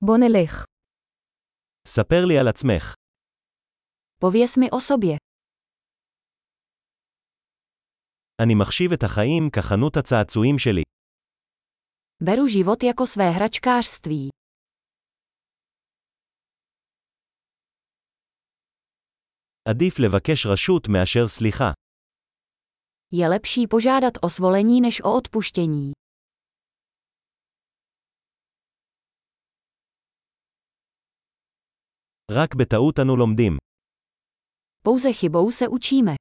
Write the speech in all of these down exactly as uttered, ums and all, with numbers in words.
בוא נלך. ספר לי על עצמך. Pověz mi o sobě. אני מחשיב את החיים כחנות הצעצועים שלי. Beru život jako své hračkářství. עדיף לבקש רשות מאשר סליחה. Je lepší požádat o svolení než o odpuštění. רק בטעות אנו לומדים. Pouze chybou se učíme.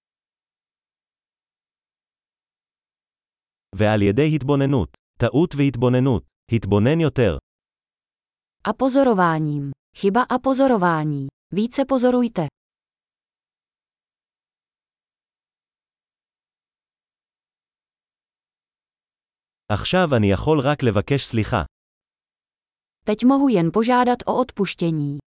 ועל ידי התבוננות. טעות והתבוננות. התבונן יותר. A pozorováním. Chyba a pozorování. Více pozorujte. עכשיו אני יכול רק לבקש סליחה. Teď mohu jen požádat o odpuštění.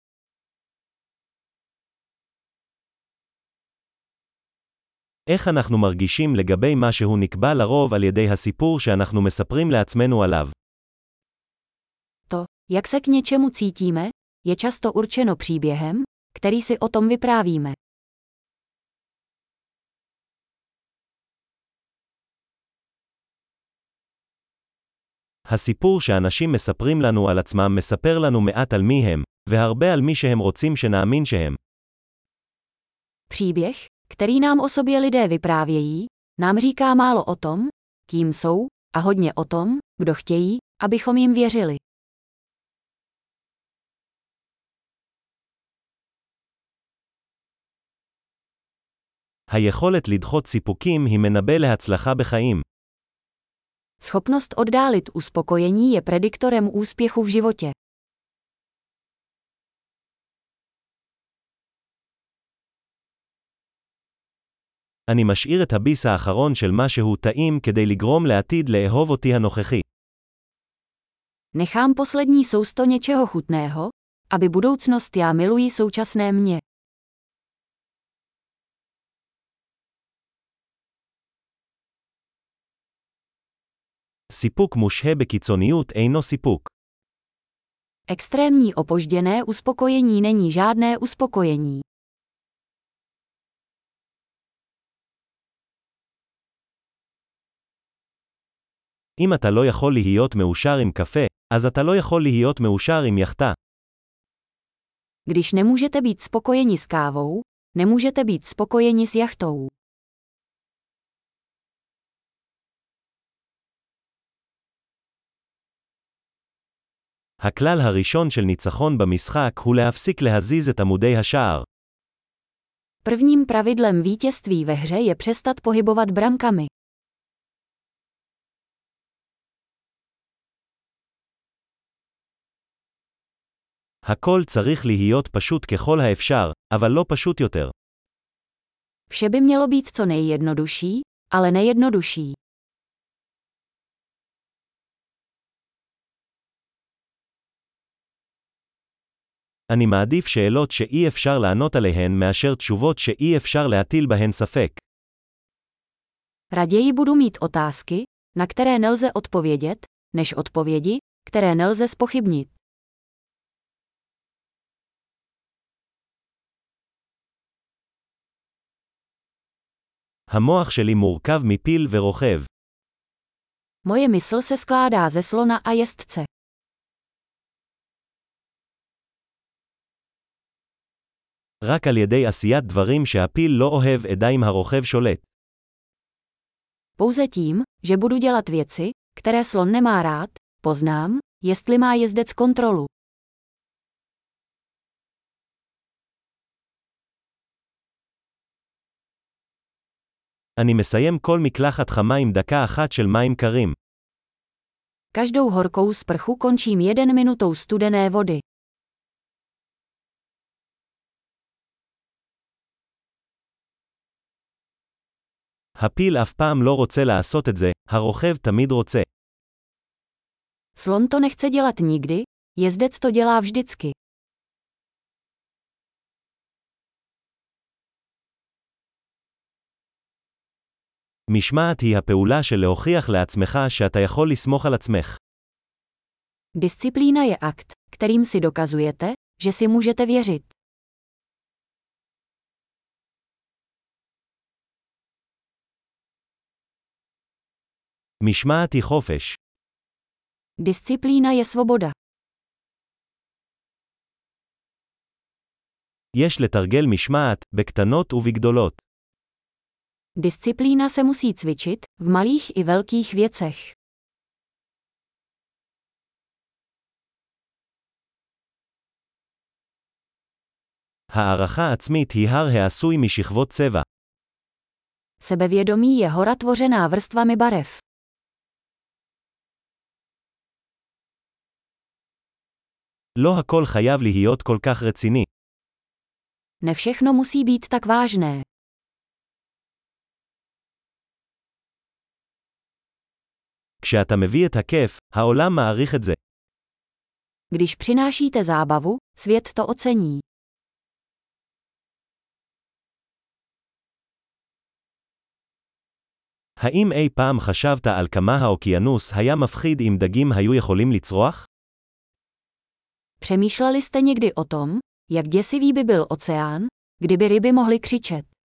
איך אנחנו מרגישים לגבי מה שהוא נקבע לרוב על ידי הסיפור שאנחנו מספרים לעצמנו עליו? To, jak se k něčemu cítíme, je často určeno příběhem, který si o tom vyprávíme. הסיפור שאנשים מספרים לנו על עצמם מספר לנו מעט על מי הם, והרבה על מי שהם רוצים שנאמין שהם. Příběh, který nám o sobě lidé vyprávějí, nám říká málo o tom, kým jsou, a hodně o tom, kdo chtějí, abychom jim věřili. היכולת לדחות סיפוקים היא מנבא להצלחה בחיים. Schopnost oddálit uspokojení je prediktorem úspěchu v životě. אני משאיר את הביס האחרון של משהו טעים כדי לגרום לעתיד לאהוב אותי הנוכחי. Nechám poslední sousto něčeho chutného, aby budoucnost já miluji současné mě. סיפוק מושהה בקיצוניות אינו סיפוק. Extrémní opožděné uspokojení není žádné uspokojení. אם אתה לא יכול להיות מאושר עם קפה, אז אתה לא יכול להיות מאושר עם יחטה. Když nemůžete být spokojeni s kávou, nemůžete být spokojeni s jachtou. הכלל הראשון של ניצחון במשחק הוא להפסיק להזיז את עמודי השער. Prvním pravidlem vítězství ve hře je přestat pohybovat brankami. הכל צריך להיות פשוט ככל האפשר, אבל לא פשוט יותר. Vše by mělo být co nejjednodušší, ale nejjednodušší. אני מעדיף שאלות שאי אפשר לענות עליהן מאשר תשובות שאי אפשר להטיל בהן ספק. Raději budu mít otázky, na které nelze odpovědět, než odpovědi, které nelze zpochybnit. המוח שלי מורכב מפיל ורוכב. Moje mysl se skládá ze slona a jezdce. רק על ידי עשיית דברים שהפיל לא אוהב אדע אם הרוכב שולט. Pouze tím, že budu dělat věci, které slon nemá rád, poznám, jestli má jezdec kontrolu. אני מסיים כל מקלחת חמה עם דקה אחת של מים קרים. Každou horkou sprchu končím jeden minutou studené vody. הפיל אף פעם לא רוצה לעשות את זה, הרוכב תמיד רוצה. Slon to nechce dělat nikdy, jezdec to dělá vždycky. משמעת היא הפעולה של להוכיח לעצמך שאתה יכול לסמוך על עצמך. Disciplína je akt, kterým si dokazujete, že si můžete věřit. משמעת היא חופש. Disciplína je svoboda. יש לתרגל משמעת, בקטנות ובגדולות. Disciplína se musí cvičit, v malých i velkých věcech. הערכה עצמית היא הר העשוי משכבות צבע. Sebevědomí je hora tvořená vrstvami barev. לא הכל חייב להיות כל כך רציני. Ne všechno musí být tak vážné. כשאתה מביא את הכיף, העולם מעריך את זה. Když přinášíte zábavu, svět to ocení. האם אי פעם חשבת על כמה האוקיינוס היה מפחיד אם דגים היו יכולים לצרוח? Přemýšleli jste někdy o tom, jak děsivý by byl oceán, kdyby ryby mohly křičet?